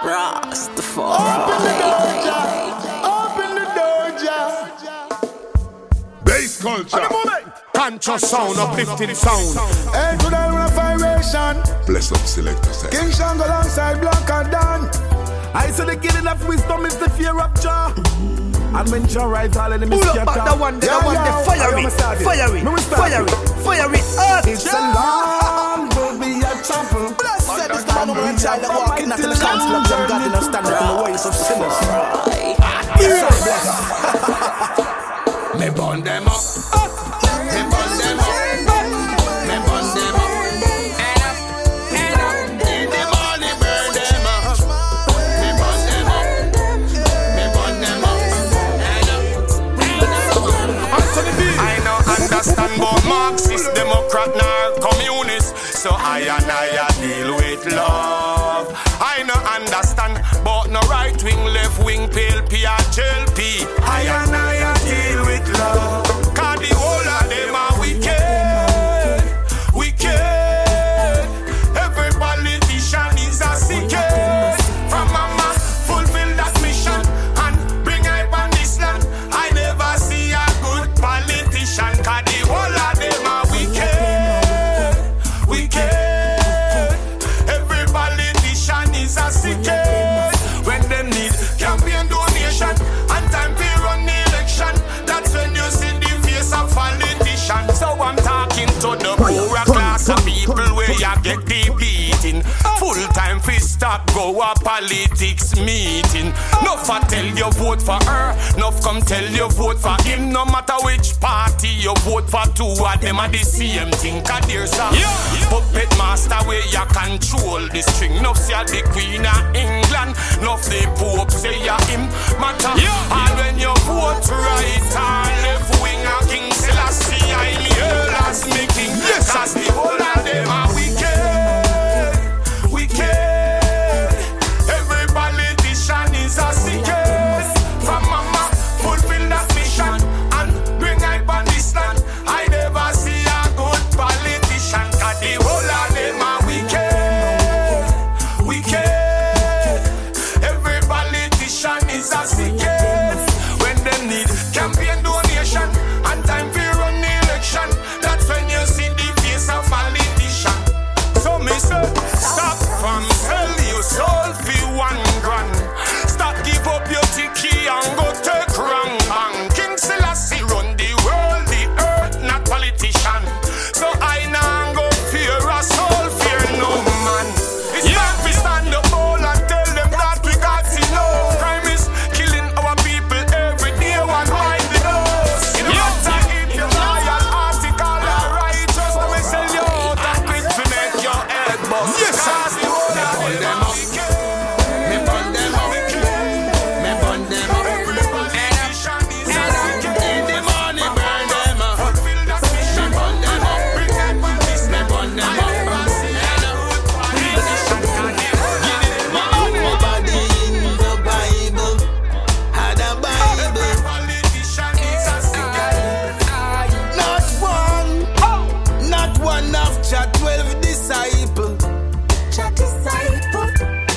Open the doja. Bass culture. Conscious sound, uplifting sound. Hey, to the refiration. Bless up selector. King Shango alongside Black and Dan. I said the killing of wisdom is the fear of Jah. And when Jah rise, all enemies scatter. Pull up the one, the fire it, earth. It's a long, will be a chapel. Blessed is the man who will child that walking not in the council of Jah. God in us stand up in the ways of sinners. Me burn them up. Me burn them up. Me burn them up. Head up. In the morning burn them up. Me burn them up. Me burn them up. Head up. I no understand about Marxist, Democrat, nor communist. So I deal with love. I no understand about no right wing, left wing, pale P or JLP. I deal with love. Cause the whole of them are wicked. Every politician is a sickhead. From mama, fulfill that mission and bring hype on this land. I never see a good politician. Cause the whole of them are wicked. Every politician is a sickhead. When them need campaign donation and time to run the election, that's when you see the face of politician. So I'm talking to the poorer class of people where you get the beating. Full time fi stop, go a politics meeting. Nuff a tell you vote for her, nuff come tell you vote for him. No matter which party you vote for, two of them are the same thing. Cause there's a puppet master where you control the string. Nuff say the Queen of England, nuff the Pope say ya him matter. And when you vote right or left wing a King Selassie, I'm here as me king. Cause the whole of them are wicked. Every politician is a sickhead. From mama, fulfill that mission and bring hype on this land. I never see a good politician. Cause the whole of them are wicked. Every politician is a sickhead. When they need campaign donation and time to run the election, that's when you see the face of politician. So me say, stop from sell your soul for $1,000. Stop give up your ticket and go take wrong bang. King Selassie run the world, the earth, not politician. So I now go fear a soul, fear no man. It's time to stand up all and tell them that we got enough. Crime is killing our people every day, one mind the nose. You know what I if you loyal, article or righteous, let me sell you out and quit to make your head bust. Yes, cause the whole of them up. Me burn them up. Me burn them up. In the morning burn them up. Me burn them up. Me burn them up. Nobody in the Bible had a Bible. Not one of Jah 12 disciples.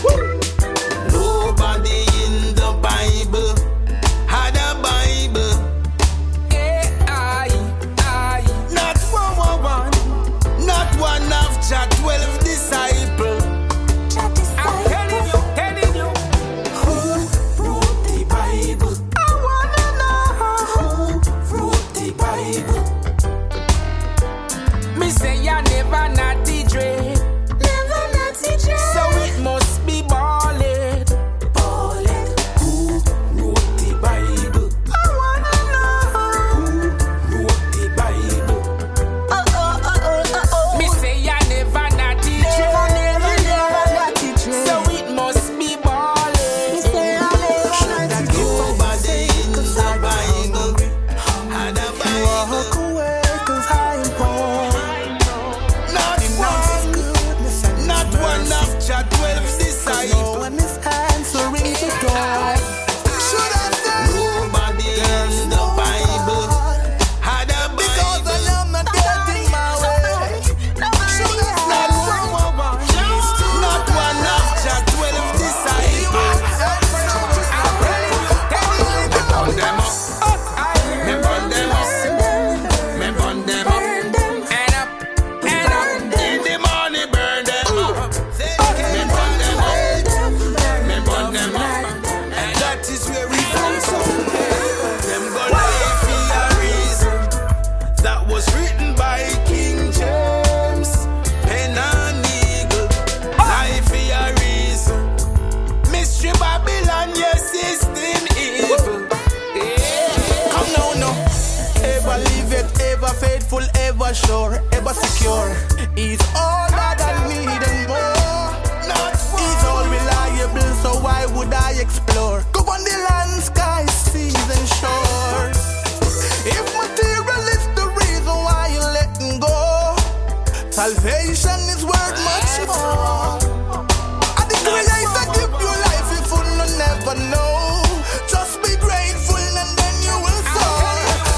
sure, ever secure. He's all that I need and more. He's all reliable, so why would I explore? Go on the land, sky, seas and shores. If material is the reason why you're letting go, salvation is worth much more. And the Creator give you life if you never know. Just be grateful and then you will soar.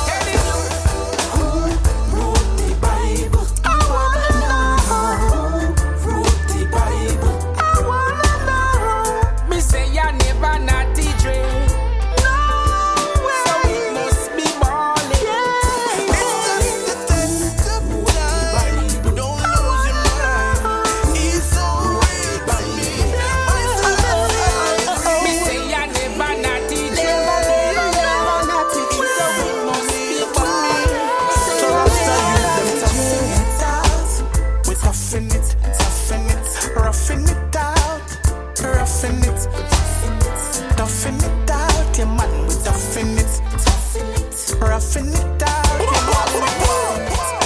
Who wrote the Bible? I wanna know. Who wrote the Bible? I wanna know. Me say you never naughty dream. No way. So it must be balling. Yeah. It's just a test of time. Don't lose your mind. He's so real to me. Me say you never naughty dream. Roughing it out, toughing it out, yeah man, we toughing it, roughing it out, yeah man.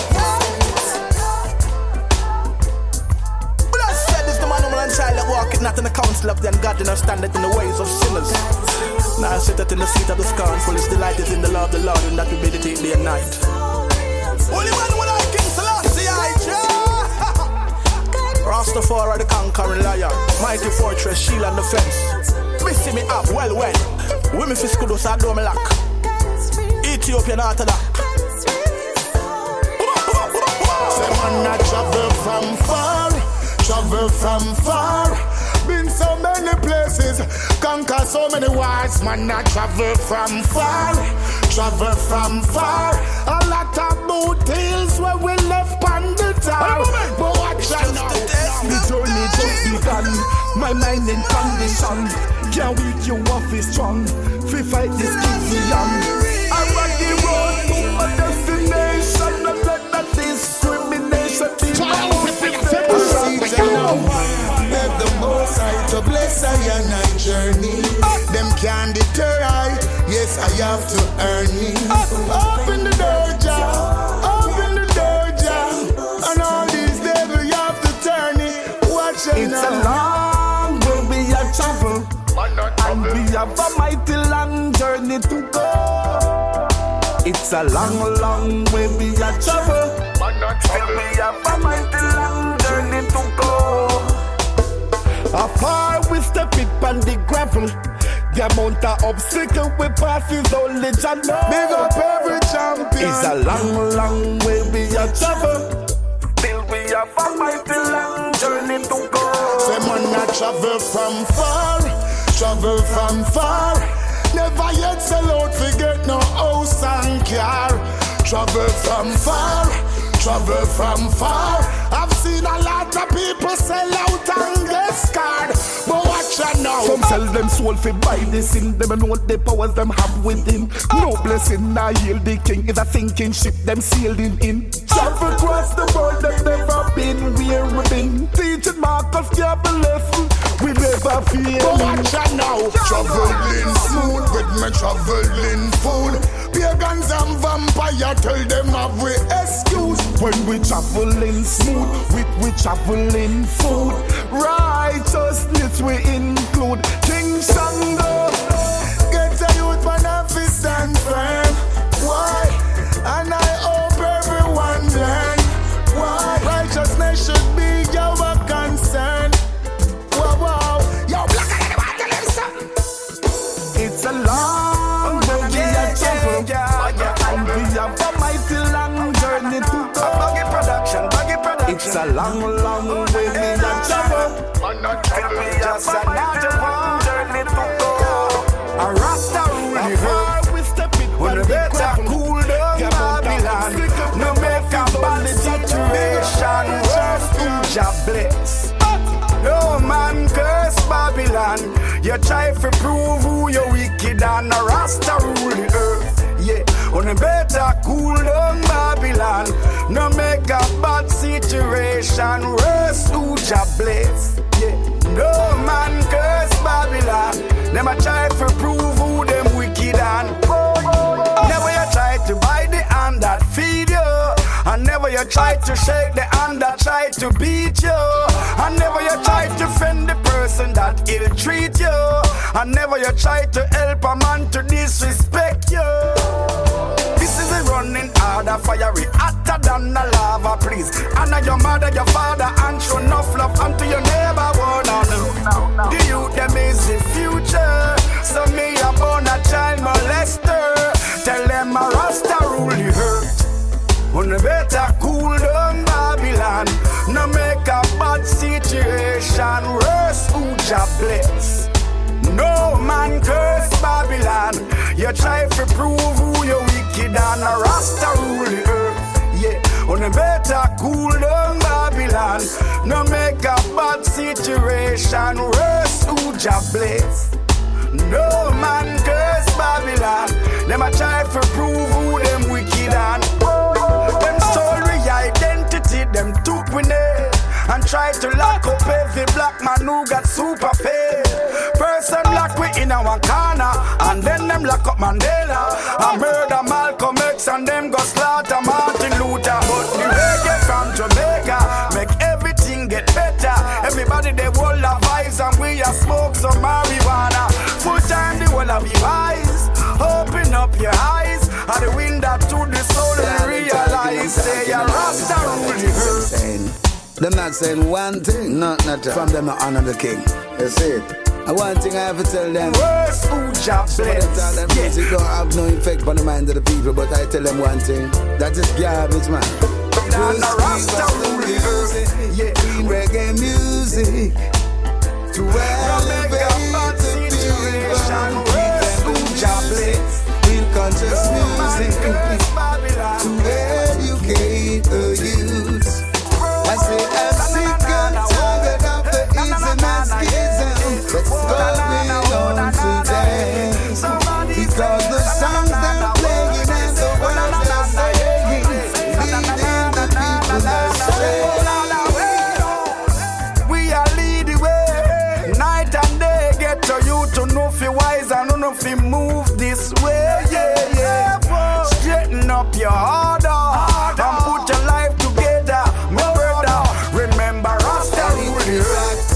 Blessed is the man, woman, and child that walketh not in the counsel of the ungodly, nor standeth in the ways of sinners. Now sitteth in the seat of the scornful, his delight is in the law of the Lord, and that we meditate day and night. Holy man, when I King Selassie, Rastafari the conquering lion, mighty fortress, shield and defense. Missing me up, well. Women for school, so I do me lock. Ethiopian Orthodox. Say man I travel from far. Been so many places, conquer so many wars. Man I travel from far. A lot of boot hills where we left on the town. But watch out now, the journey just begun. My mind in condition, can't wait you off is strong. We fight this easy young. I run the road to a destination. Don't let that discrimination be my Beg the Most High to bless I and I journey. Them can't deter I. Yes, I have to earn me. Open the door, Jah. Open the door, Jah. And all these devils you have to turn it. Watch it now. It's a long way we are travel, and we have a mighty long journey to go. It's a long way we are travel, and we have a mighty long journey to go. Afar we step it on the gravel. The amount of obstacle we pass is only Jah know. Big up every champion. It's a long way we are travel, till we have a mighty long journey to go. Say man I travel from far. Never yet sell out, forget no house and car. Travel from far. I've seen a lot of people sell out and get scarred. But watch out now. Some sell them soul for buy this in. Them know the powers them have within. No blessing, I heal the king. Is a sinking ship, them sailing in. Travel across the world, them never been where we been. Teaching Marcus give a lesson, we never feel. But watch out now. Traveling smooth with me traveling food. Pagans and vampire tell them have we excuse. When we traveling smooth, we traveling food. Righteousness we include. King Shango. Get a youth man off his stand firm. Why? And I hope everyone learn. Why? Righteousness should be our concern. Wow. Yo, black it's a long way we are travel, and we have a mighty long journey to go. Buggy production. It's a long way we are travel, and we have a mighty long journey to go. A Rasta rule the Before we step it, when the better cool down Babylon. No make a bad situation. Just to Jah bless. No man curse Babylon. You try to prove who you wicked and a Rasta rule the earth. Yeah, on a better cool down Babylon. No make a bad situation worse to Jah bless. Yeah, no man curse Babylon. Them a try to prove who them wicked and never you try to buy the hand that feed you, and never you try to shake the hand that try to beat you. And never you try to defend the person that ill treat you. And never you try to help a man to disrespect you. This is a running harder, fiery, hotter than a lava, please. Honor your mother, your father, and show enough love unto your neighbor. The youth, them is the future. So me a born a child molester. Tell them a Rasta rule the earth. On better cool down Babylon. No make a bad situation worse. Who Jah bless? No man curse Babylon. You try to prove who you wicked and a Rasta rule the earth. Yeah, on a better cool down Babylon. No make a bad situation worse. Who Jah bless? No man curse Babylon. Them a try to prove who them wicked and them stole we identity. Them took we name and try to lock up every black man who got super paid. Person lock we in our corner, and then them lock up Mandela. I murder Malcolm X and them go slaughter Martin Luther. But the reggae from Jamaica make everything get better. Everybody they all have vibes and we a smoke some marijuana. Full time the whole of your eyes. Open up your eyes and the window to the soul and realize say a Rasta rule the earth. Them not saying one thing, not from them not honor the king. That's it. And one thing I have to tell them. Worse who Jah bless. That music don't have no effect on the mind of the people, but I tell them one thing. That is garbage, man. Rasta rule the earth. Yeah, reggae music to elevate the people. Worse who Jah bless. Real conscious music to educate the youth. I say I'm sick and tired of the ism and schism that's going on today. Because the songs they're playing and the words they're saying leading the people astray. We are lead the way, night and day. Get to you to know if you're wise and know if you move this way. Yeah, yeah. Straighten up your order and put your life together. Remember Rasta rule the earth.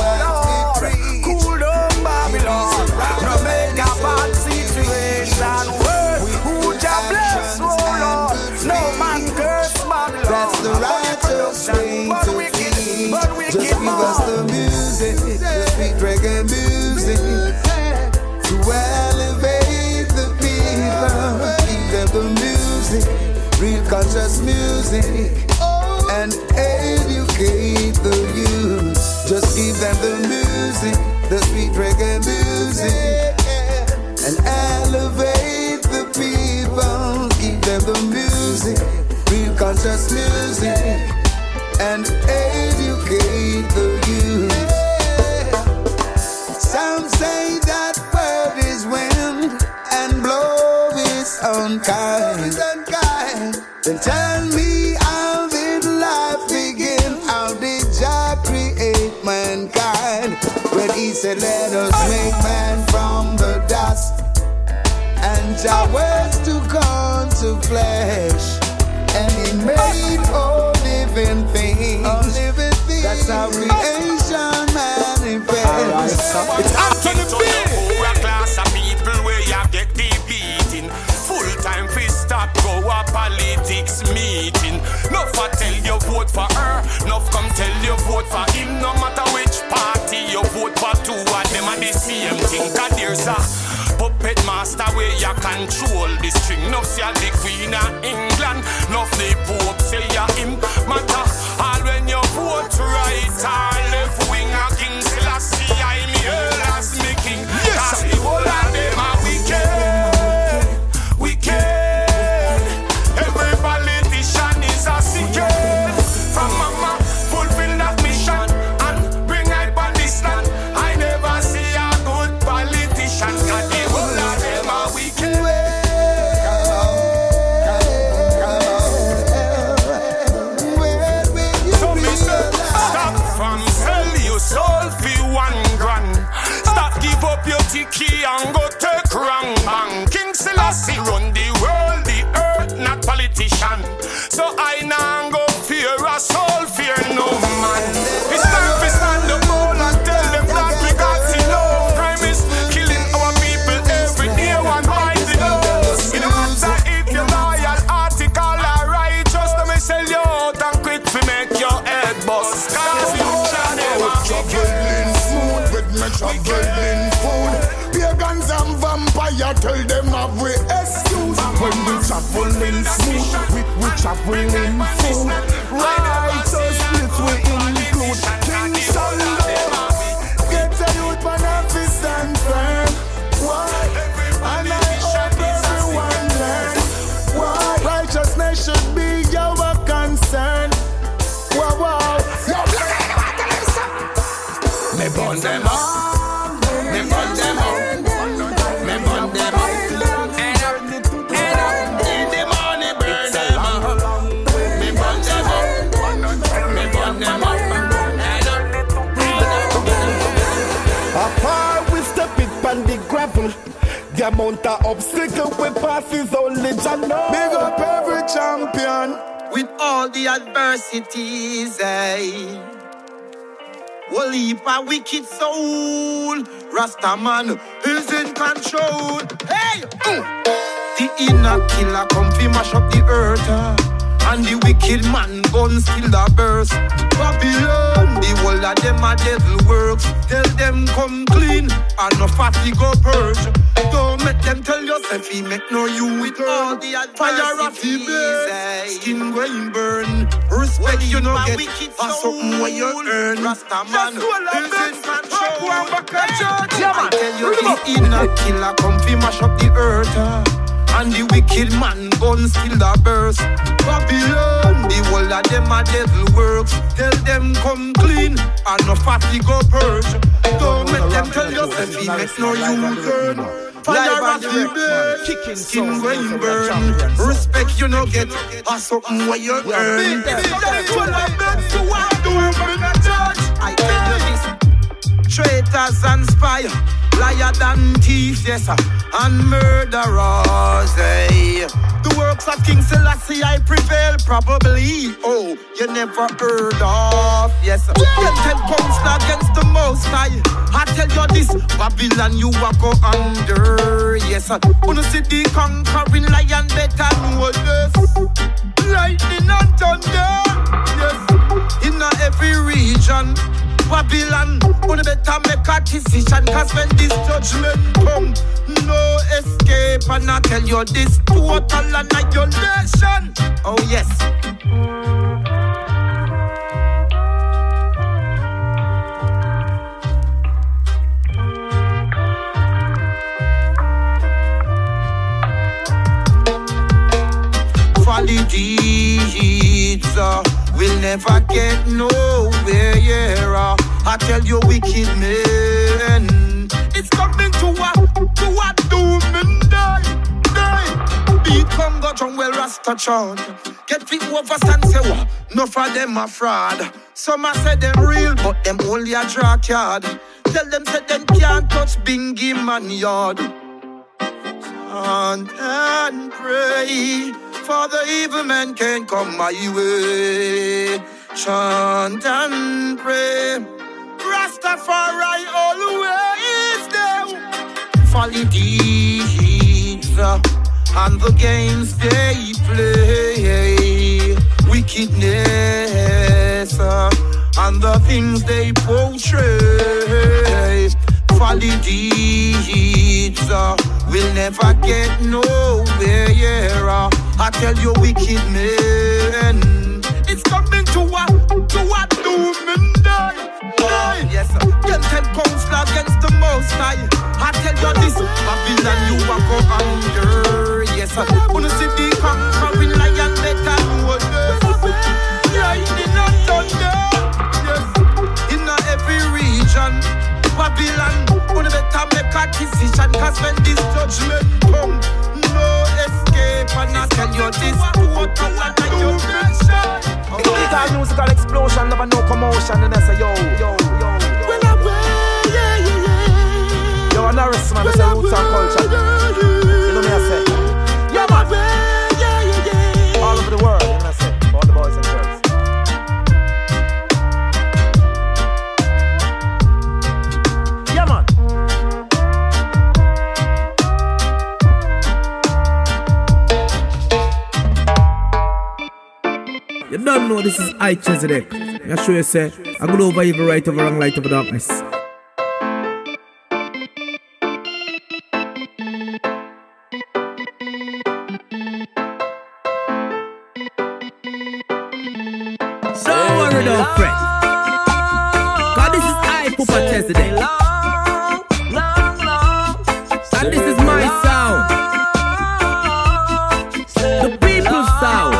Cool down Babylon. No make a bad situation worse. Who Jah bless, oh Lord. No man curse Babylon. That's the righteous way to keep. Just give us the music, the sweet reggae music, to elevate the people. Give them the music, real conscious music, and educate the youth. Just give them the music, the sweet reggae music, and elevate the people. Give them the music, real conscious music, and educate the youth. Some say that word is wind and blow is unkind. Then tell me how did life begin? How did Jah create mankind? When he said let us make man from the dust, and Jah words to come to flesh, and he made all living things. That's how creation manifests. It's Anthony B. A class of people where you get the beating. Full time fi stop go a politics meeting. Nuff a tell you vote for her, nuff come tell you vote for him. No matter which party you vote for, two of them are the same thing. 'Cause there's a puppet master where you control the string. Nuff say the Queen of England, nuff the Pope say ya him. Matter all when you vote right or left wing a King Selassie, I me earl as me king. Yes, the whole of them are wicked, wicked. Every politician is a secret. From mama fulfill that mission and bring I on this land. I never see a good politician. 'Cause the whole of them are wicked. So me say, stop from sell your soul for $1,000. Stop give up your ticket and go take wrong bang. King Selassie run the world, the earth, not politician. So I now go I tell them have we excuse. When we traveling smooth, we traveling full. Righteous split we include King Sunday. Get a youth man up to stand firm. Why? And I hope everyone learn. Why? Righteousness should be our concern. Wow, wow. Me burn them up. Me burn them up. Me burn them up. Head up. In the morning burn them up. Me burn them up. Me burn them up. Head up. Afar we step it on the gravel. The amount of obstacle we pass is only Jah know. Big up every champion. With all the adversities, we'll leave a wicked soul. Rastaman is in control. Hey! The inner killer come fi mash up the earth. And the wicked man guns still a burst. Babylon, the whole of them a devil works. Tell them come clean and no fatty go purge. Don't make them tell yourself he make no you with all the fire of the burn. Skin going burn. Respect you no get for something where you earn. Rastaman is in control. I tell you the inner killer come fi mash up the earth. And the wicked man guns still a burst. Babylon, the whole of them a devil works. Tell them come clean and no fatty go purge. Don't make them tell yourself he make no U-turn. Fire of the burn, skin going burn. Respect you no get, or something where you earn. That's what I meant to I tell you this, traitors and spies, liar than thieves, yes, and murderers, The works of King Selassie I prevail, probably. Oh, you never heard of, yes. Get 10 pounds against the Most High. I tell you this, Babylon you a go under, yes. Wanna see the conquering lion better know this. Lightning and thunder, yes. In every region. Babylon, wanna better make a decision. Cause when this judgment come, no escape. And I tell you this, total annihilation. Oh yes. Folly deeds will never get nowhere, yeah. I tell you wicked men, it's coming to a doom and die. Beat Congo drum well Rasta chant. Get fit over stand say what? No for them a fraud. Some a say them real, but them only a draw card. Tell them say them can't touch Bingy man yard. Chant and pray, for the evil man can't come my way. Chant and pray, Rastafari always there. Folly deeds and the games they play, wickedness and the things they portray. Folly deeds will never get nowhere, yeah. I tell you wicked men, it's coming to a doom and die. Yes, get 10 pounds against the Most High. I tell you this, Babylon you a go under. Yes, wanna see the conquering lion better know this. Lightning and thunder. Yes, in every region. Babylon, wanna better make a decision. Cause when this judgment come, no escape. And I tell you this, total annihilation. It's a musical explosion, never no commotion. And I say yo. Well, yeah. Yo, and Norris, man, that's a roots and culture. You know me, I say. Yeah, man. Yeah. All over the world, you know I say. For all the boys and girls. Yeah, man. You don't know this is I Chezidek. I show you say, I go over evil, right over wrong, light over darkness. Super Chesedek. Long, long, long. And this is my sound. The people's sound.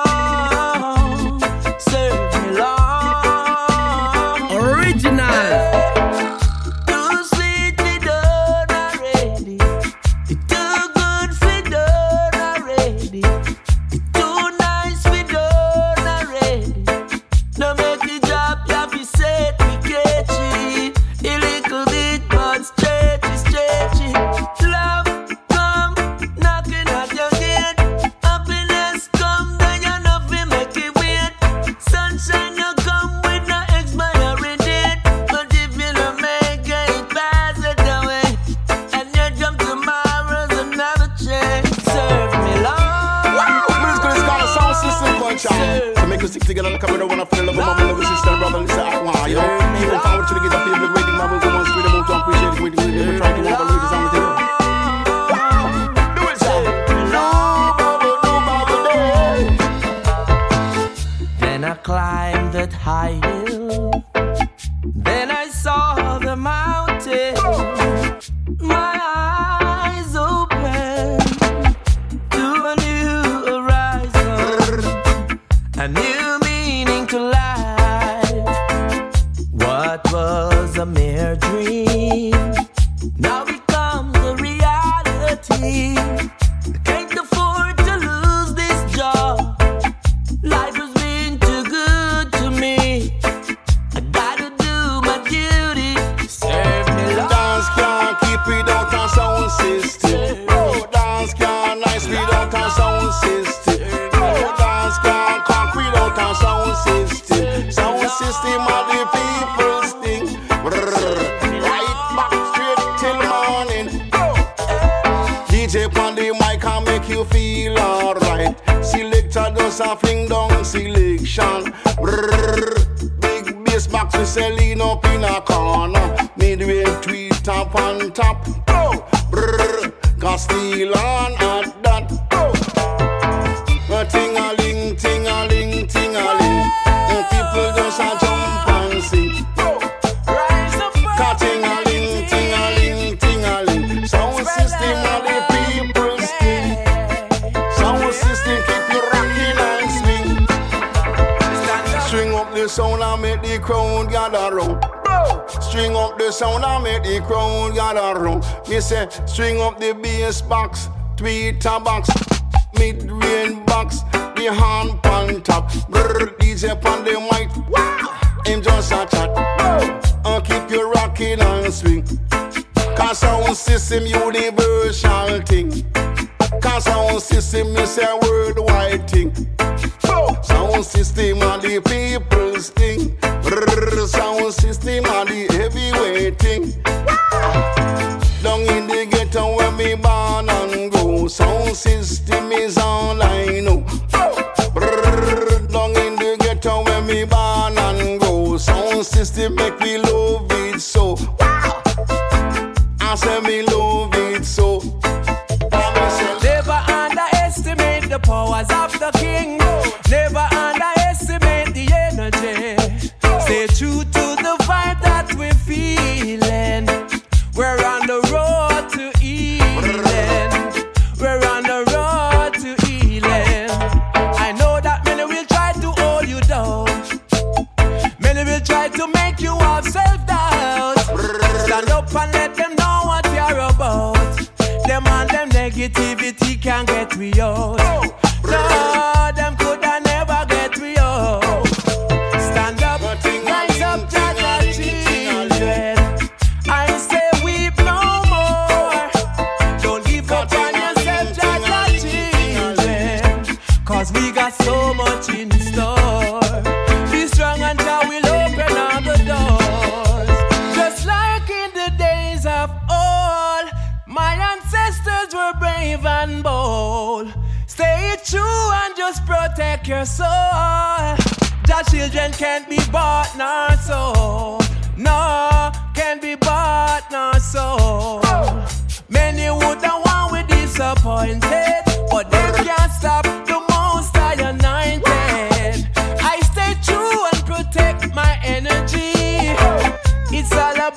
Serve me long. Original. Too sweet for done already. It's too good for done already. It's too nice for done already. No make the job you have to set me catchy. A little bit but stretchy. Love come knocking at your gate. Happiness come then you know fi make it wait. Sunshine you come with no expiry date. But if you don't make it, pass it away. And you jump tomorrow's another chance. Serve me long. Musical is called a sound system culture. To make us stick together like a brother, wanna feel love, mama, love, sister, brother, listen, I want you. Even forward to the get up here, waiting, my brother, one street, I'm to appreciate it, waiting, never try to walk away, this I'm with you. Do it, sir. Then I climbed that high hill. Then I saw the mountain. My eyes open to a new horizon, a new meaning to life. What was a mere dream now becomes a reality. I can't afford to lose this job. Life has been too good to me. I gotta do my duty. Serve me long. Dance can't keep without a sound system. Oh, dance can't nice without a sound system. Oh, dance can't conk without a sound system. Sound system of the people's thing. Right back straight till morning. DJ on the mic can make you feel alright. Selector does a fling down selection. Big bass box we selling up in a corner. Midway tweet top on top. Got steel on at that. Ting-a-ling, ting-a-ling, ting-a-ling. People just a jump and sing. Ting-a-ling, ting-a-ling, ting-a-ling. Sound system of the people's thing. Sound system keep you rocking and swing. String up the sound and make the crowd gather round. String up the sound and make the crowd gather round. Me say, string up the bass box, tweeter box, mid-range box, the hand pan top. DJ on the mic, him just a chat. Keep you rocking and swing. Cause sound system universal thing. Cause sound system is a worldwide thing. Sound system of the people's thing. Sound system of the heavyweight thing. Down in the ghetto where me born and grow. Sound system is all I know. Down in the ghetto where me born and grow. Sound system make me love it so. I say me love it so. Never underestimate the powers of the king. Never underestimate the energy. Stay true to the vibe that we're feeling. We're on the road to healing. We're on the road to healing. I know that many will try to hold you down. Many will try to make you have self-doubt. Stand up and let them know what you're about. Them and them negativity can't get me out. No, them coulda never get me out. Stand up, rise up, Jaja children. I say weep no more. Don't give up on yourself, Jaja children. Cause we got so much in store. Be strong and Jah will open all the doors. Just like in the days of old, my ancestors were brave and bold. Stay true and just protect your soul. Jah children can't be bought nor sold. No, can't be bought nor sold. Many would have won with disappointed, but they can't stop the most I anointed. I stay true and protect my energy. It's all about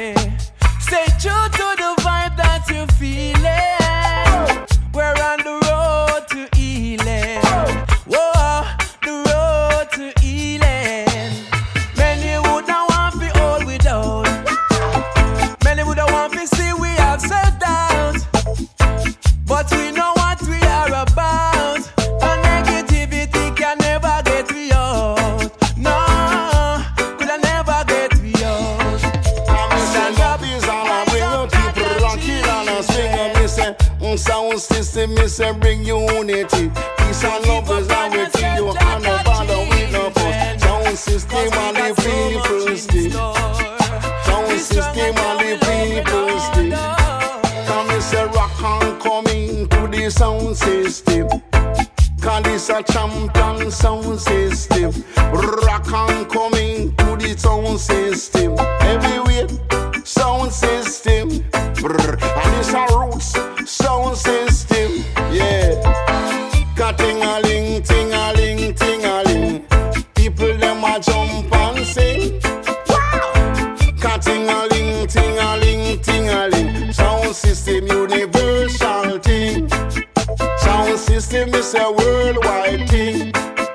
Stay true to the vibe that you're feeling. We're on the road to healing. Whoa, the road to healing. Many would not want to hold we down. Many would not want to see we have self-doubt. But we know what we are about. The negativity can never get we out. No, could I never get we out. Stand up is all I bring up people rocking on a swing up. Me say, sound system, me say bring unity. Peace and love is how we feel you. And no bother with no fuss. Sound system and the people stick. Sound system and the people stick. Come me say rock and coming to the sound system. Cause this a champion sound system. Rock and coming to the sound system. Everywhere sound system. And it's a roots sound system. Yeah. Ting-a-ling, ting-a-ling, ting-a-ling. People them a jump and sing. Wow. Ting-a-ling, ting-a-ling, ting-a-ling. Sound system universal thing. Sound system is a worldwide thing.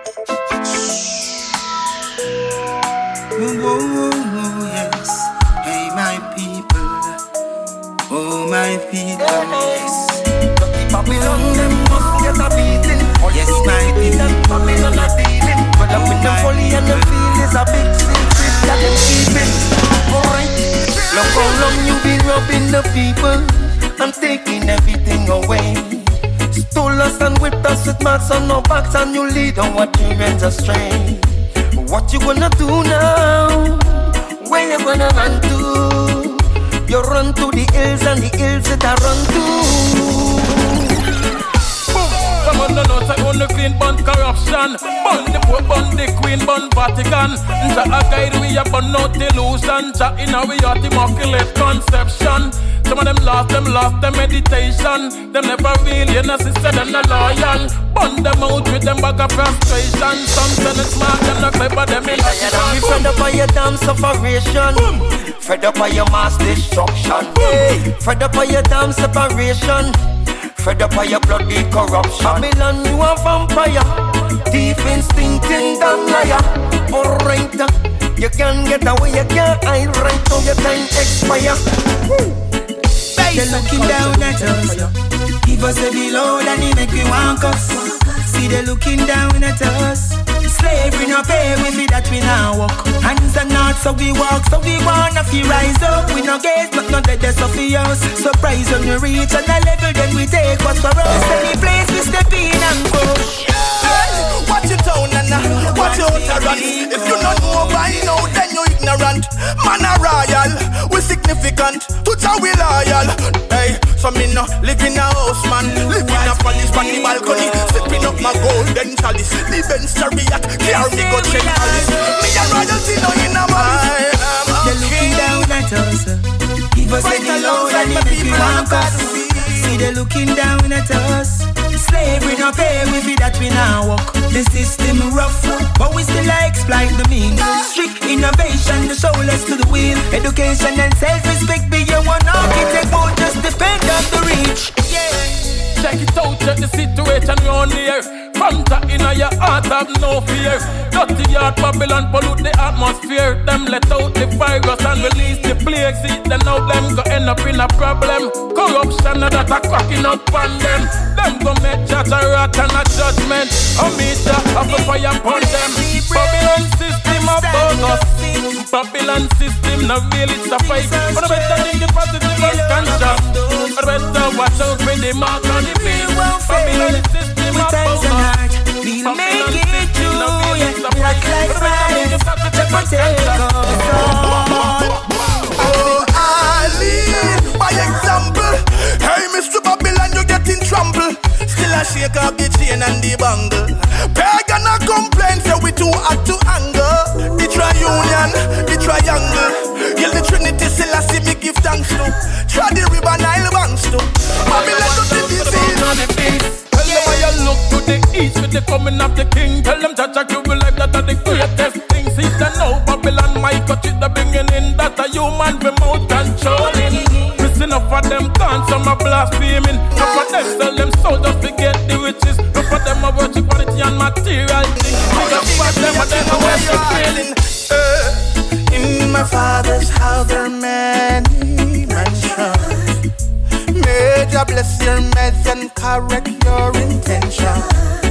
Oh, yes. Hey, my people. Oh, my people. Yes. Babylon, them must get a beating. Yes, my people. Babylon a dealing. But up with the folly and the field is a big secret that them keeping. Alright. Look how long you been robbing the people and taking everything away. Stole us and whipped us with marks on our backs, and you lead our children astray. What you gonna do now? Where you gonna run to? You run to the hills and the hills that I run to. Some of the notes I only clean bun corruption. Bun the Pope, bun the Queen, bun Vatican. Nja a guide we a bun out delusion. Nja in a we heart immaculate conception. Some of them lost them meditation. Them never really innocent, said them not loyal. Bun them out with them bag of frustration. Some say them smart, them not clever, them in we fed up by your damn sufferation. Fed up by your mass destruction. Fed up by your damn separation. Fed up by your bloody corruption. Babylon, you a vampire. Deep instincting damn liar. Alright, you can get away, you can't hide. Right now your time expire. They're looking down at us. Give us a below and they make we want us. See they looking down at us. Slavery no pay with it that we now walk. Hands are not so we walk. So we wanna feel rise up. We no gaze but not that that's of us. Surprise when we reach on a level then we take what's for us. Any place we step in and push. Watch your tone and watch your utterance. If you don't know by now then you ignorant. Man a royal, we significant. To we loyal. Hey, so me no live in a house man. Live in a palace on the balcony. Sipping up my golden chalice. The Benz chariot, carry me go check Alice. Me a royalty no in a malice. They're looking down at us. Give us any load and the people want us. See they looking down at us. Slavery no pay with it that we now walk. The system rough, but we still exploit the means. Strict innovation, the shoulders to the wheel. Education and self-respect be your one architect. Won't just depend on the reach. Check it out, check the situation round here. Fanta in your heart, have no fear. Dirty heart, Babylon pollute the atmosphere. Them let out the virus and release the plague. See, then now them go end up in a problem. Corruption that a cracking up on them. Them go make judge a rat and a judgment. Omija have a fire upon them. Babylon system of bogus. Babylon system now really it's a fight. But I better think the positive and conscious. But I better watch out with the mark on the field. Babylon system of bogus. We'll make it through, yeah. Black lives matter. Oh, Ali, by example. Hey, Mr. Babylon, you get in trouble. Still a shake up the chain and the bangle. Pagan a complain, say we too hot to anger. The triunion, the triangle. Yell the Trinity, still I see me give thanks to. Try the river Nile banks to. Babylon to the disease. Tell them why you look to the east with the coming of the king. Tell them that you will life that are the greatest things. See them now, Babylon, my cut it, the bringing in that them gone, some are blaspheming. Half of them sell them soul just to get the riches. Half of them are worship quality and material things. Half of them are never worship feeling. In my father's house there are many mansions. May Jah bless your meds and correct your intention.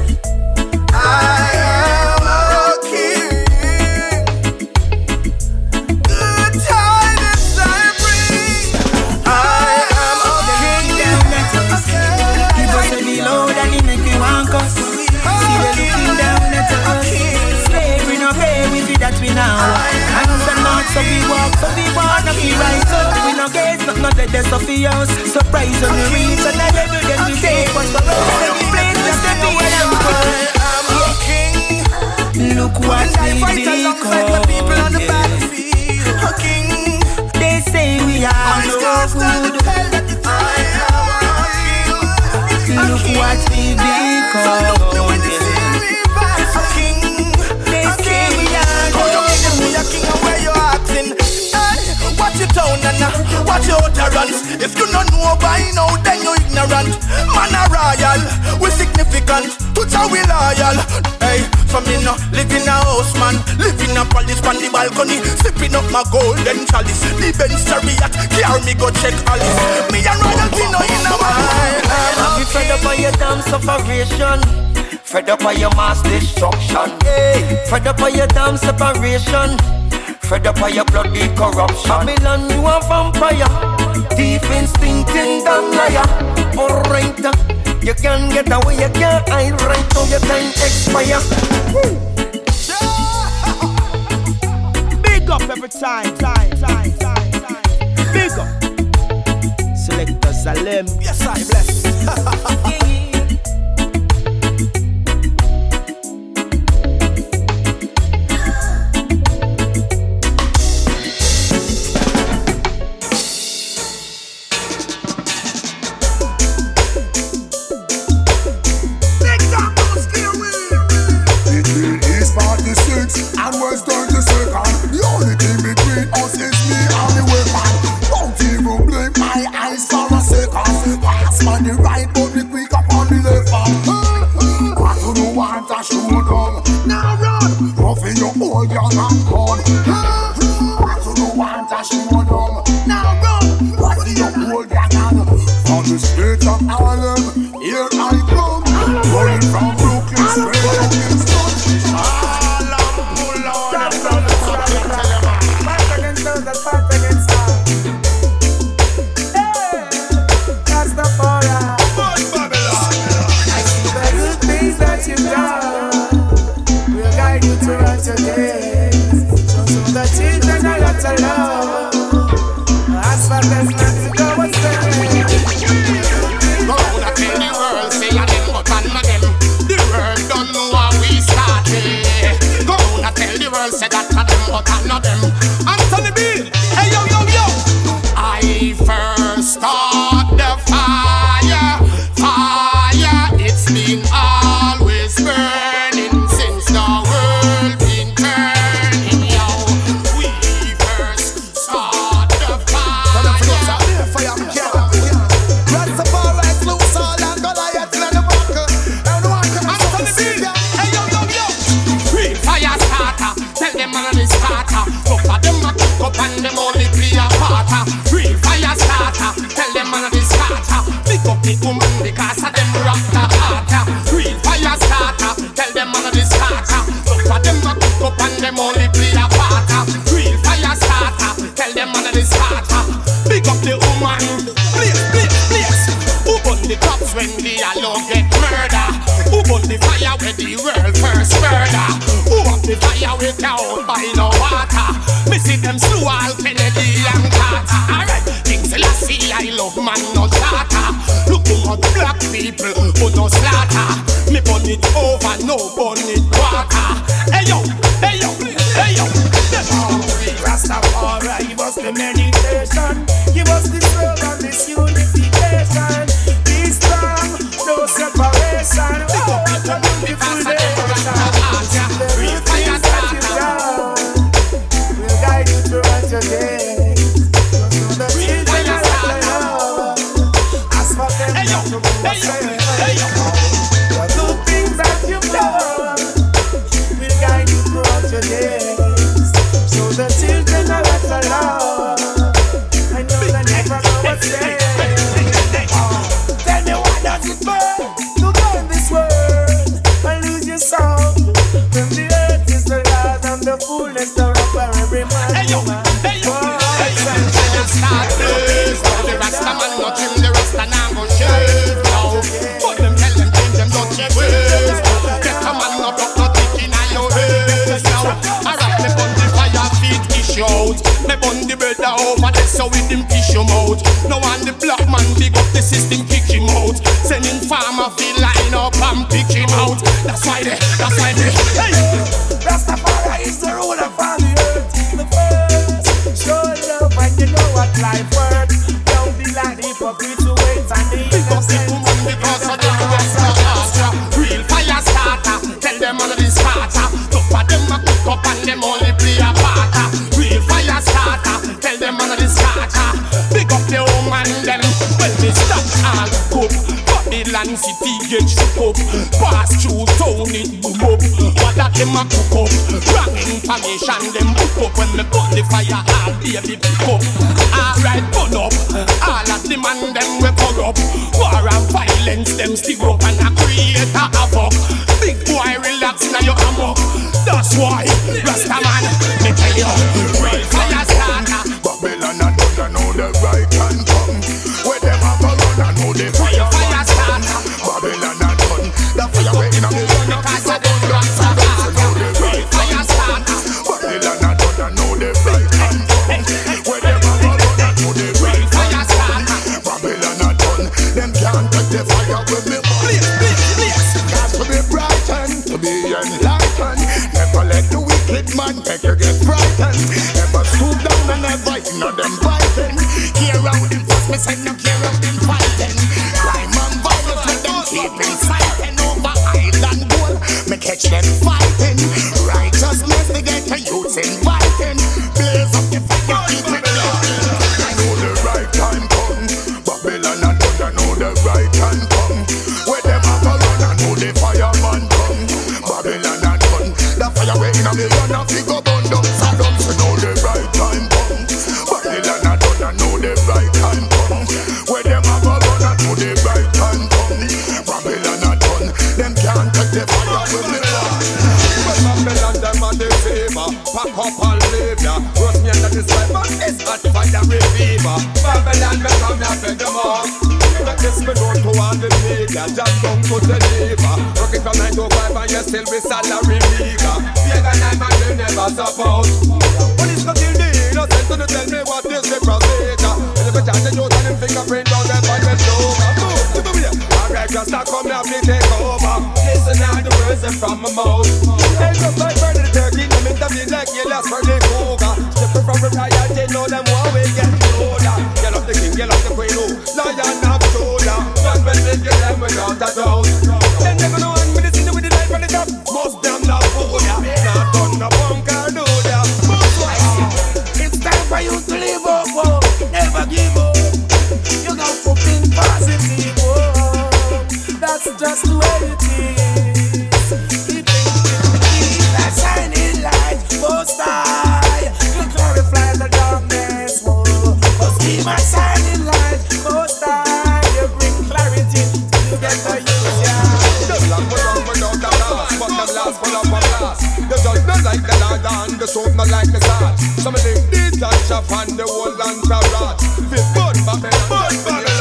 I am a king. Good tidings I bring. I am a king. Give us the load and he make you want us. See the looking down at us. Slavery no pay, we see that we now. Hands and mouths so we walk, no we rise up. We no gaze, not the death of the house. Surprise on the reach and the level that we take. What's the road that we place, we step in and go. Look what we become, yeah. A king. They say we are no good. Look what we become, A king. They say we are no good. A king and where you acting? Watch your tone and watch your utterance. If you don't know by now, then you're ignorant. Man a royal, we significant. Put how we loyal. Hey, so me no live in a house, man. Live in a palace on the balcony. Sipping up my golden chalice. The Benz Chariot, carry me go check Alice. Me and royalty no in a mind. I'm fed up by your damn separation. Fed up by your mass destruction. Hey, fed up by your damn separation. Fed up by your bloody corruption. Babylon, you a vampire. Deep instincting damn liar. Alright, you can get away, you can't hide. Right now your time expire. Big up every time. Big up. Selector Salem. Yes, I bless. And West 32nd. The only thing between us is me and the weapon. Don't even blink my eyes for a second. Pass on the right, but the quick up on the left hand. What do you want to shoot down? Now run! Roughing your old young and gone. What do you want to shoot down? Now run! Roughing your old young and from the streets of Harlem, here I come. Rolling from Brooklyn straight up in Scotland. Say that for them, but I'm not them. Anthony B, hey yo yo yo. I first start the fire. It's been always burning since the world been turning. Yo, we first start the fire. Rastafari loose all and Goliath in the buckle. Anthony B, hey yo yo yo. We fire starter. Tell them man is starter. Look at them a cook up and them only play a parter. Real fire starter. Tell them man is starter. Pick up the woman because of them rock the harder. Real fire starter. Tell them man is starter. Look at them a cook up and them only play a parter. Real fire starter. Tell them man is starter. Pick up the woman. Please. Who burn the cops when the alone get murder? Who burn the fire when the world first murder? Who up the fire with your own by no water? Me see them slow all Kennedy and Carter. Alright, King Selassie, I love man no charter. Look at black people who no slaughter. Me burn it over, no burn it quarter. Hey yo. Rastafari, give us the meditation. Give us the soul and this unification. Be strong, no separation. What a beautiful day. The real things that you've done will guide you throughout your day. him fish him out. Now on the black man big up the system, kick him out. Sending farmer feel line up and pick him out. That's why they, hey! Rastafari is the ruler from the earth. The first, show love when you know what life worth. Don't be like the hypocrites who wait and the innocent. Because of the Rasta, real fire starter. Tell them all of this starter. Look at them a cook up and them only play a part. Real fire starter. Tell them all of this starter. Big up the home and them. Well, they stop all cook. Babylon city get shook up. Pass through town it boom up. What that them a cook up. Wrong information them book up. When me put the fire all baby pick up. Alright burn up. All of the man them we corrupt. War and violence them stick up and a create a havoc. Big boy relax now you amok. That's why Rastaman me tell you real fire starter. Babylon and don't know the right hand come. Where them a go run and know the fire starter. Babylon and done the fire way in a million. Because of the Rastaman real fire starter. Babylon and don't know the right hand come. Where them a go run and know the right fire starter. Babylon and done them can't take the fire with me. Got to be brightened, to be enlightened. Never let the wicked man make you get frightened. Never stoop down and never ignore them fighting. Care out them first, me say no care out them fighting. Crime and violence, let them keep inciting. Over island goal, me catch them fighting. Righteousness, they get the youths inviting. Blaze up the fire, keep it low. I know the right time come. Babylon and don't know the right time come. Where them a go run and know the fireman come. Babylon and done the fire way in a million of figure burn down. Saddam so know the right time come. Babylon and done know the right time come. Where them a go run and know the right time come. Babylon and done them can't take the fire with me. When Babylon them a the favor, pack up and leave ya. Roast me under this life and this hot fire reviver. Babylon me come here for them all. Make this me known to all the media. Just come to Geneva. Working from 9 to 5 and you still with salary meager. Pagan and man you never support. Police go kill the innocent to tell me what is the procedure. And if I charge the youth and them fingerprint down there by the shoulder. Alright, just start come here and take over. Listen now the words from my mouth. Hey, just like burn the turkey, them intervene like you last for the cougar. Stepping from the riot, they know them one way get older. Get up the king, get up the queen, oh, lion up shoulder. But when they get them without a doubt, then they're gonna hang with the city with the light on the top. Most them love food, yeah. Not on the bunker, do ya. It's time for you to live up, oh. Never give up. You got to think positive, oh. That's just the way it is. Keep that shining light, most high. You glorify the darkness, oh. Cause be my shining light, most high. You bring clarity, you get the use, yeah. Them long without the last, but them last full of a blast. The judge not like the Lord and the soap not like the salt. Some of them did touch up on the whole land of rot. Fit burn Babylon,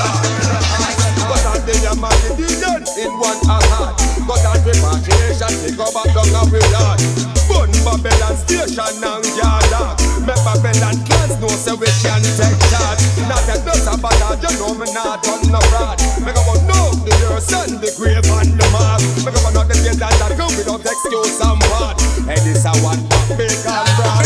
but on the Yamadidian in one heart. Got on repatriation, take over down and we land. Burn Babylon station and yard. Make Babylon clans know so we can take charge. Not that does a bad, you know me not on the fraud. Make up on no, the earth and the grave and the mark. Make up on not the place that go without excuse and part. And this a one big and broad.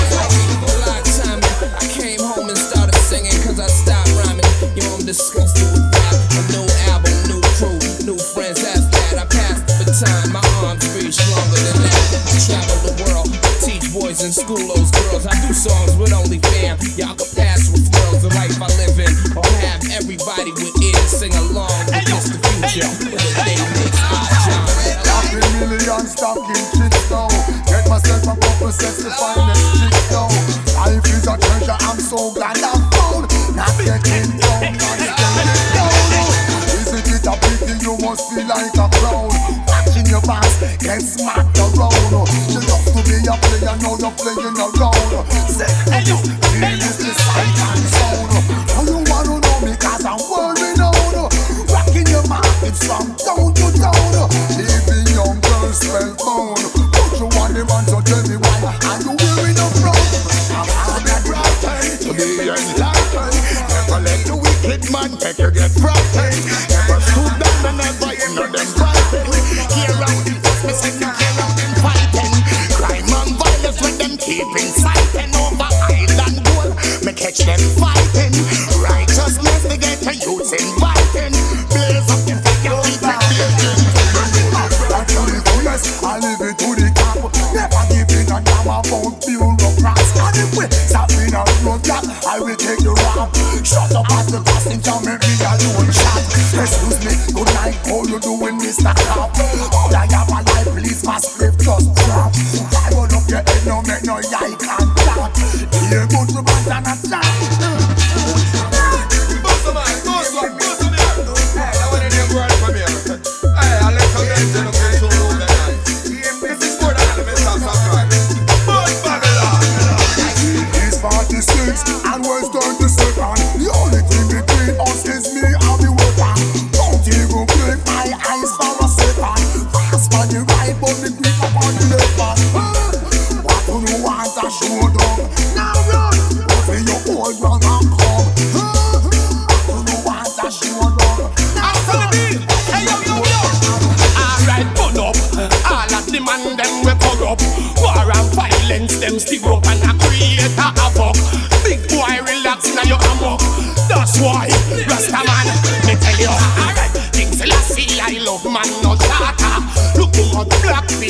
I came home and started singing cause I stopped rhyming. You know I'm disgusted with rap. A new album, new crew, new friends, that's that. I passed the baton, my arms reach longer than that. I travel the world, teach boys in school, those girls. I do songs with only fam. Y'all can pass with worlds, the life I live in. Or have everybody with ears sing along with this the future. With a day makes Happy million stocking chicks now. Get myself a couple sets to find them chicks now. Life is a treasure, I'm so glad I found. Not getting down, not getting down. Isn't it a pity you must feel like a clown? Watching your boss get smacked around. You love to be a player, now you're playing around. Second, feel is the sight and sound. How you wanna know me cause I'm world renowned. Rocking your market from town to town. Leaving young girls spellbound. Put you on the run, so tell me why are you wearing a frown? I'm on that right time to be enlightened.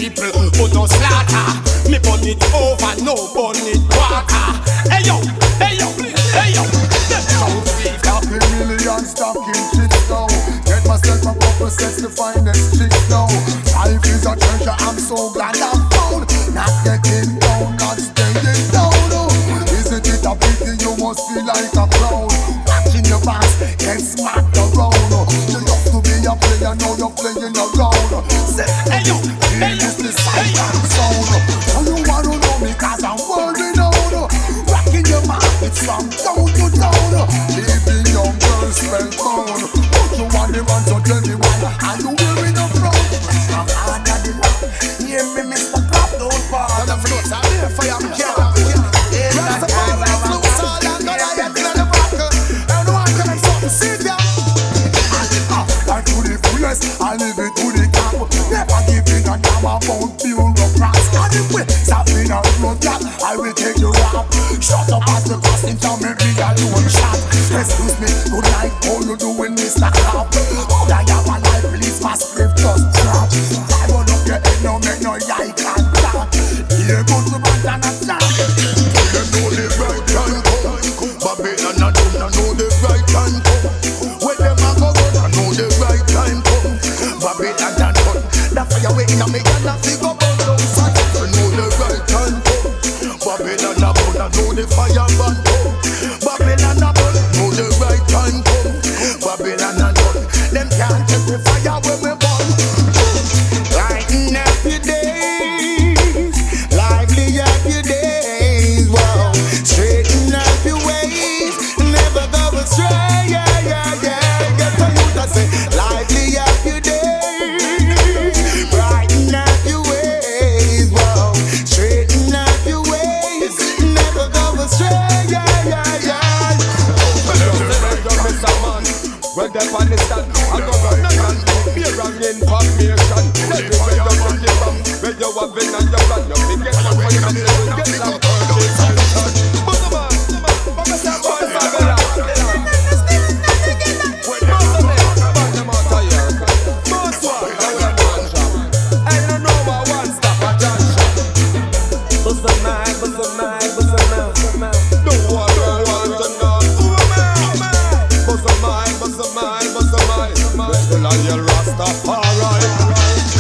people who don't slaughter. Me burn it over, no burn it quarter. Hey yo, hey yo, hey yo. Happy million stocking chicks now. Get myself a couple sets the finest chicks now. Life is a treasure, I'm so glad I found. Not getting down, not staying down. Isn't it a pity you must feel like a clown? Watching your past, get smacked around. You love to be a player, now you're playing around. Say, hey yo, hey yo, the silent sound. Oh, you wanna know me cause I'm worried out. Rocking your mouth, it's from down to down. Leaving young girls spellbound. Put you on the run, so tell me why are you wearing a frown? From under the lap, hear me Mr. Clap, don't fall. On the floats, I'm there for your camp. Rasta Paul, let's lose all and go to get to the back. Everyone can have something, sit down. I live up, I to the fullest, I live it to the cap. Never giving a damn about bureaucrats. And if we stop in a roadblock, I will take the rap. Shut up at the crossing town, make me a lone shot. Excuse me, good night, how you doing, Mr. Cop? Oh, I have a life, please, my script just drop. I run up your head, no make no eye contact. Here goes the band and a chant. You know the right time come. Babylon and them, I know the right time come. When them a go run, I know the right time come. Babylon and them, the fire waiting on me, and I see go burn down sight. I know the right time come. Babylon and them, I know the fire burn come. Babylon and them, know the right time come. Babylon and them, them can't take the fire when we burn. Lighten up your days, lively up your days, wow. Straighten up your ways, never go astray, yeah, yeah, yeah. Get the youth that say, lively up your days, brighten up your ways, wow. Straighten up your ways, never go astray, yeah, yeah, yeah. Well, they're on the stand, I go run and beer and information. Everywhere you run the from, where you have been and you run, you can get some for you and you get some purchase and touch. But the man, what's that boy, Babylon? When you're on the man, them out of here. Most one, I don't know what one stop at junction. Bust the man, bust the man, bust the man, bust the man. No one to know. Bust the man, bust the man, bust the man. Well, I hear Rastafari.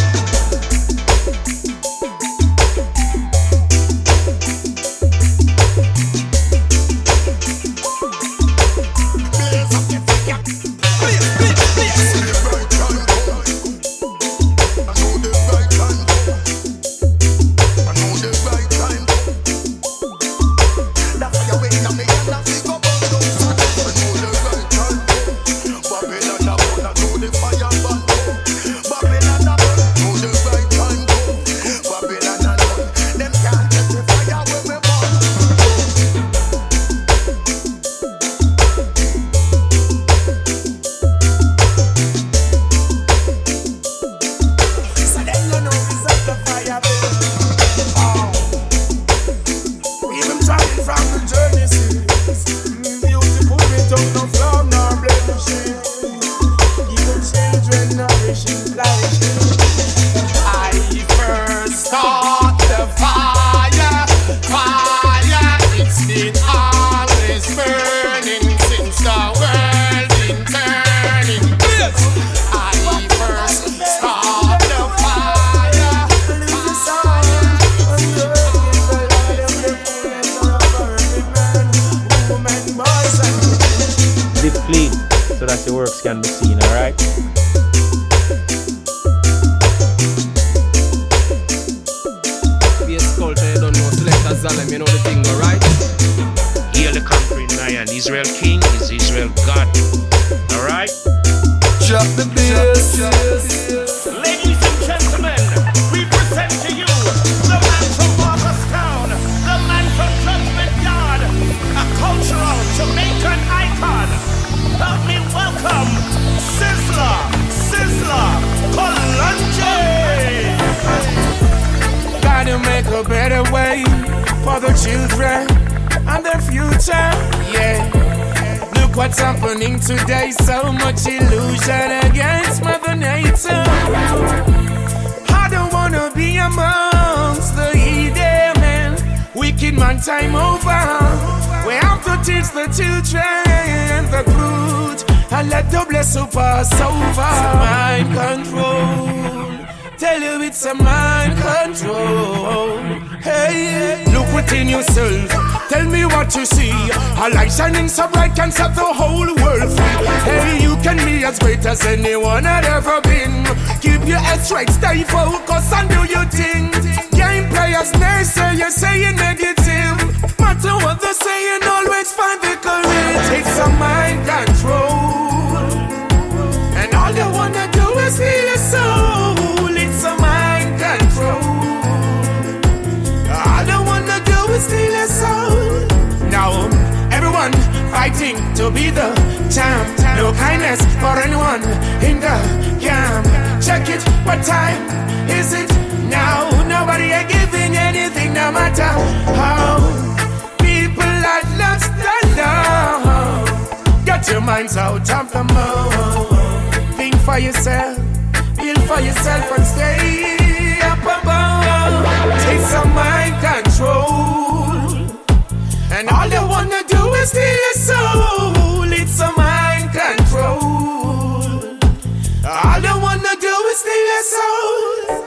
Can be seen, alright? Be a sculptor, you don't know, Selector Zalem, you know the thing, alright? Hear the conquering lion, Israel king is Israel God, alright? Drop the bass. Ladies and gentlemen, we present to you the man from Walkerstown, the man from Judgment Yard, a cultural Jamaican icon. Help me welcome Sizzla Kalonji. Gotta make a better way for the children and their future, yeah. Look what's happening today, so much illusion against Mother Nature. I don't wanna be a amongst the heathen. Wicked man time over. We have to teach the children the truth and let the blessing pass over. Mind control. Tell you it's a mind control. Hey, look within yourself. Tell me what you see. A light shining so bright can set the whole world free. Hey, you can be as great as anyone had ever been. Keep your head straight, stay focused and do your thing. Game players, naysayers saying negative. Matter what they're saying, always find the courage. It's a mind control. And all you wanna do is heal your soul. It's a mind control. All I wanna do is steal your soul. Now, everyone fighting to be the champ. No kindness for anyone in the camp. Check it, what time is it now? Nobody ain't giving anything, no matter how. People are lost and down. Get your minds out of the mouth. Think for yourself. Feel for yourself and stay up above. Take some mind control. And all you wanna do is steal your soul. It's a mind control. All you wanna do is steal your soul.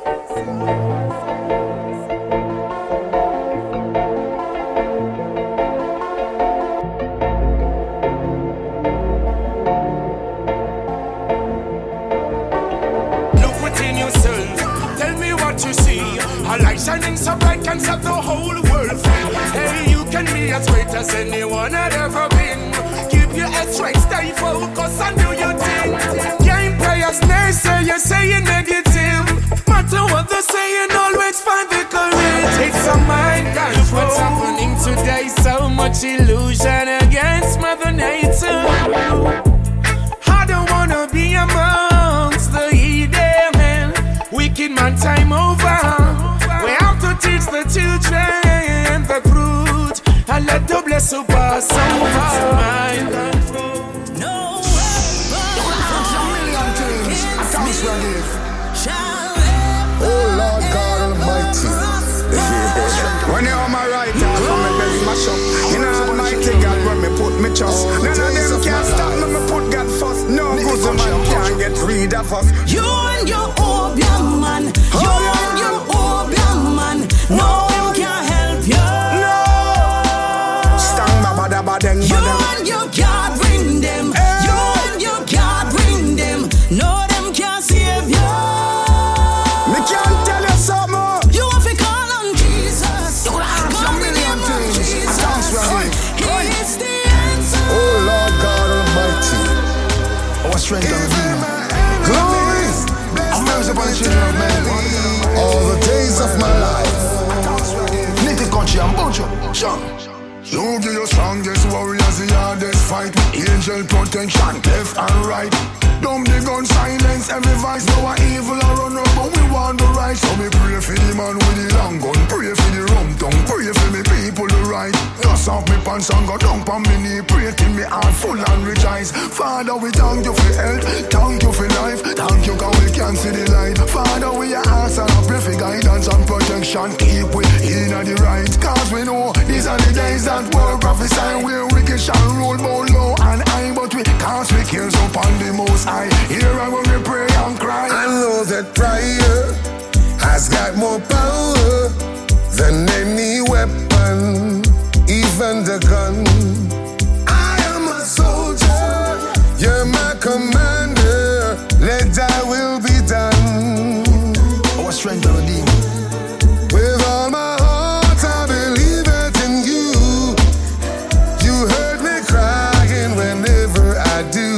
A light shining so bright can set the whole world free. Hey, you can be as great as anyone had ever been. Keep your head straight, stay focused and do your thing. Game players, naysayers saying negative. Matter what they're saying, always find the courage. It's a mind control. What's happening today? So much illusion against Mother Nature. I don't wanna be amongst the heathen. Wicked man time over. We have to teach the children the truth and let the blessing pass over. Mind control. No oh Lord God Almighty. When you're on my right hand, when me belly mash up. You know Almighty God when me put me trust. None of them can't stop me, me put God first. No good man can't get rid of us. You and your opium man. You and your opium man. No one can help you. No. Stang baba badeng. You and you can't bring them. You and you can't bring them. No them can't save you. Me can't tell you something. You have to call on Jesus. Call on Jesus. He is the answer. Oh Lord God Almighty. Our strength and redeemer. Glory. I'm mercy upon the children of men. All the days of my life. Native country and bunch Sean. You give your strongest warriors the hardest fight. Angel protection, left and right. Dumb the gun, silence every voice. No one evil or run up, but we want the right. So me pray for the man with the long gun. Pray for the rum tongue. Pray for me people the right. Dust off me pants and go down on me knee. Pray till me heart full and rejoice. Father, we thank you for health. Thank you for life. Thank you cause we can see the light. Father, we ask and I pray for guidance and protection. Keep we in the right. Cause we know these are the days that were prophesied. Where wicked shall roll both low and high. But we cast we cares upon the most high. Here I when we pray and cry. I know that prayer has got more power than any weapon, even the gun. I am a soldier, you're my commander. Let thy will be done. Our strength and redeemer. With all my heart I believe it in you. You heard me crying whenever I do.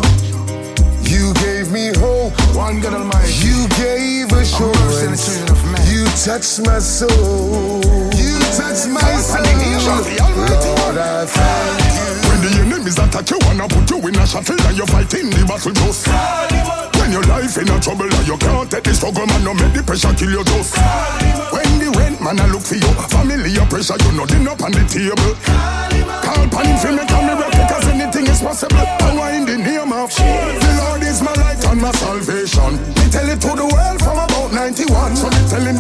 You gave me hope. One God Almighty. You gave assurance. You touched my soul. You touched my soul. Lord, I thank you. When the enemies attack you, wanna put you in a shuttle and you fighting the battle just. When your life in a trouble and you can't take the struggle, man, no make the pressure kill you just. When the rent man a look for you, family your pressure, you know dinner up on the table. Call pan him for me, come me rep because anything is possible. Power in the name of the Lord is my light and my salvation. Me tell it to the world from about 91. So me telling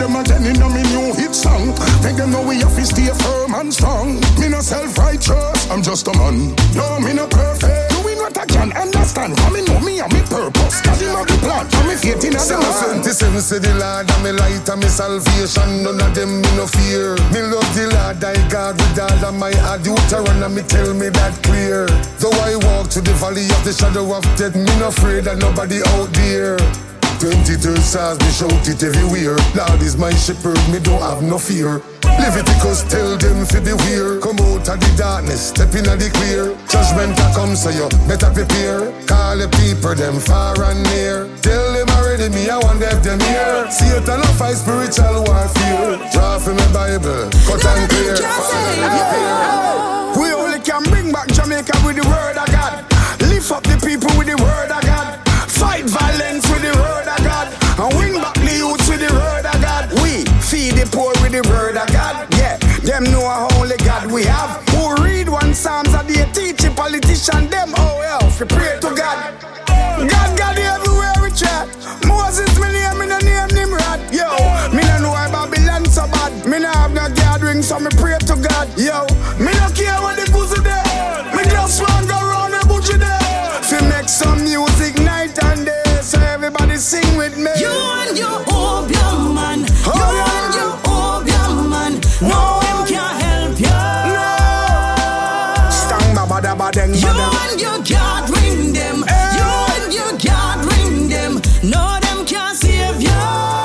man strong. Me no self-righteous, I'm just a man. No, me no perfect. Doing what I can understand. Coming know me and me purpose. Cause him have the plan. And me faith in a man. 27 say the Lord and me light and me salvation. None of them me no fear. Me love the Lord I God with all of my heart. You turn and me tell me that clear. Though I walk to the valley of the shadow of death, me no afraid of nobody out there. 23 stars, me shout it everywhere. Lord is my shepherd, me don't have no fear. Leviticus tell them fi beware. Come out of the darkness, step in the clear. Judgment a come, so you better prepare. Call the people, them far and near. Tell them already, me I want them here. Satan a fight spiritual warfare. Draw from my Bible, cut and clear. We only can bring back Jamaica with the word of God. Lift up the people with the word of God. Fight violence with the word of God. And win back the youth with the word of God. We feed the poor with the word of God. Yeah, them know how only God we have. Who read one Psalms a day, teach a politician them oh well, we pray to God. God everywhere we chat. Moses me name, me no name Nimrod. Yo, me no know why Babylon so bad. Me no have no gathering, so me pray to God. Yo, me no care what the goose there. Me just want go round the bush there. Fi make some music night and day, so everybody sing with me. You and your opium man. You and your opium man. No one can help you. No. Stang baba da ba deng You and your gathering them. You and your gathering them. No them can save you.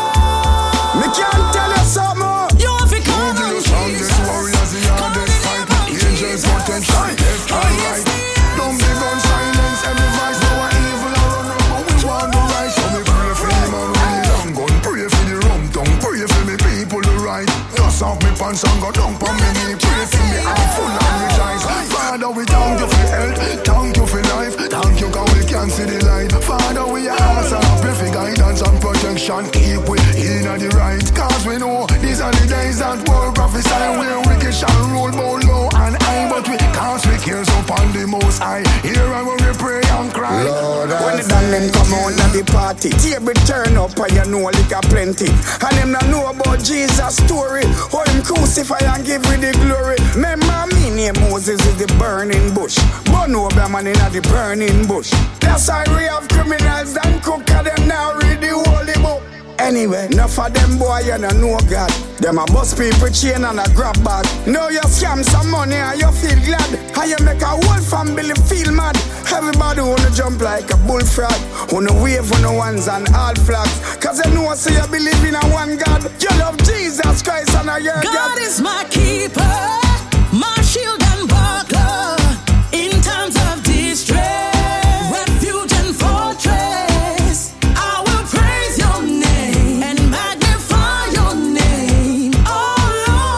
Me can't tell you something. You have to come on. Strongest warriors in all this fight. Angels potential, left and right. Don't be gun silence, every voice no one evil or run up, but we want the right. So me pray for the man with the long gun, pray for the rum tongue, pray for me people the right. Dust off me pants and go down for me knee, pray for me I'm full and rejoice. Father we thank you for health, thank you for life, thank you cause we can see the light. Father we ask and pray for guidance and protection, keep we in the right. Cause we know these are the days that war prophesy where wicked shall rule both low and high, but we can't speak ears upon the most high. Here and when we pray and cry. Lord, when the them come out at the party, table turn up and you know liquor plenty. And them not know about Jesus' story. How him crucify and give me the glory. Remember me name Moses is the burning bush. But no man in the burning bush. That's why we have criminals and cook and them now read the holy book. Anyway, enough of them boy you don't know God. Them a bust people chain and a grab bag. Now you scam some money and you feel glad. And you make a whole family feel mad. Everybody wanna jump like a bullfrog. Wanna wave on the ones and all flags. Cause you know so you believe in a one God. You love Jesus Christ and your God. God is my keeper, my shield and buckler. In times of distress, refuge and fortress, I will praise your name and magnify your name, oh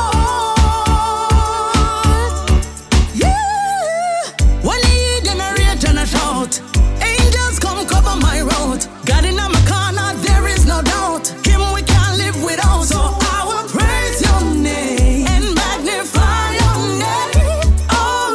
Lord. Yeah, when you hear them a rage and a shout, angels come cover my road. God in my corner, there is no doubt. Him we can't live without, so I will praise your name and magnify your name, oh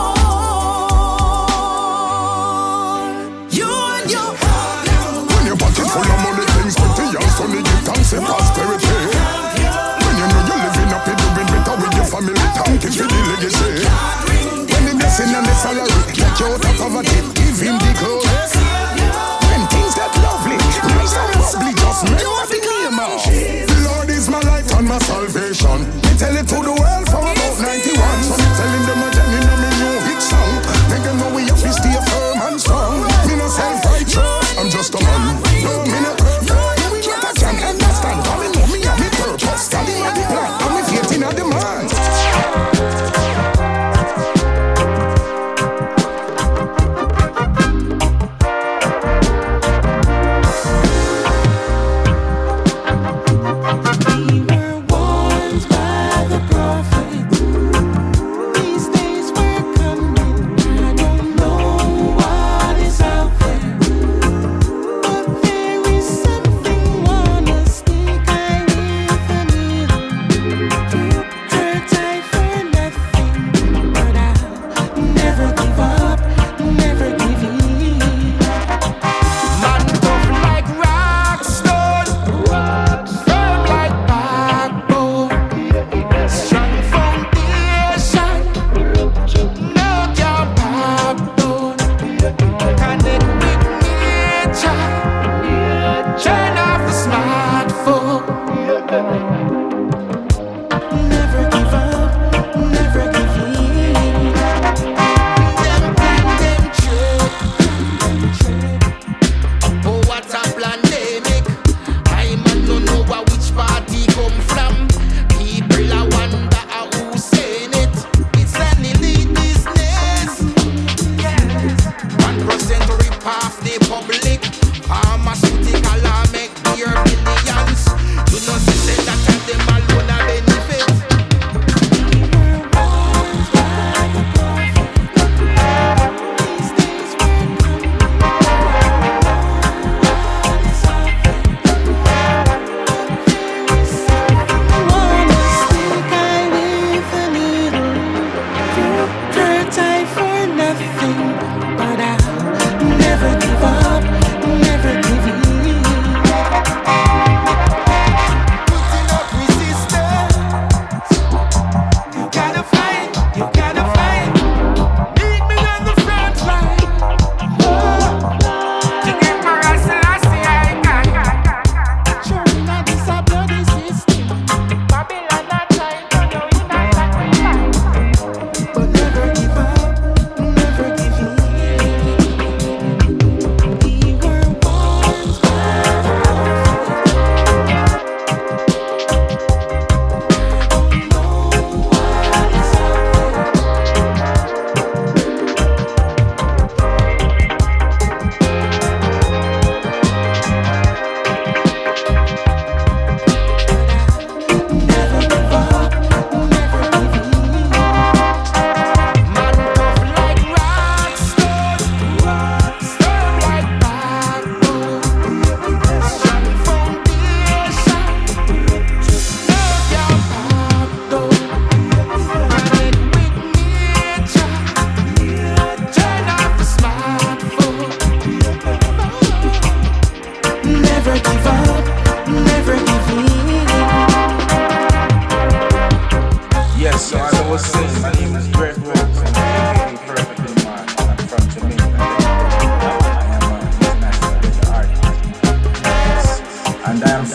Lord. You and your when your pocket full of money, things pretty young, so they give thanks and prosperity. When you know you're living up, you're doing better with your family, thank you for the legacy. When the blessing and the salary, get you out of poverty, give him the glory. When things get lovely, nice and bubbly, just remember the name of the Lord is my light and my salvation. Me tell it to the world from about 91. So me telling them again in my new hit song. Make them know we have to stay firm and strong. Me no self-righteous, I'm just a man. No, me no perfect. Doing what I can understand. Cause me know me and me purpose. God in the plan, and me faith in the man. We were warned by the prophet.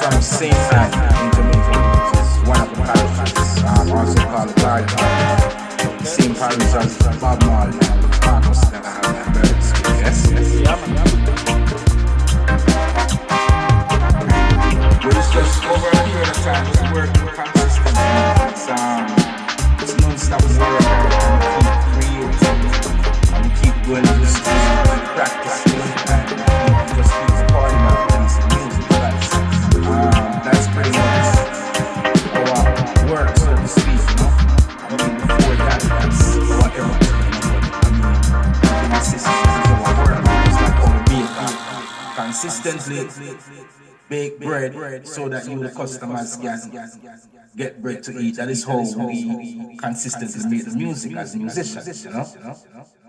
from St. Anne in Jamaica, which is one of the parishes, also called the Garden. Same parish as Bob Marley and Marcus that I have buried. Yes? It's just over a period of time, it's working consistently. It's non-stop work and keep creating and keep going to the studio, keep practicing and just keep recording and releasing music. That's pretty much our work, so to speak, you know. I mean, before that, that's whatever. I mean, consistency is our work. It's like how we bake consistently. Bake bread so that you, the customers, can get bread to eat. That is how we consistently make the music as musicians, you know.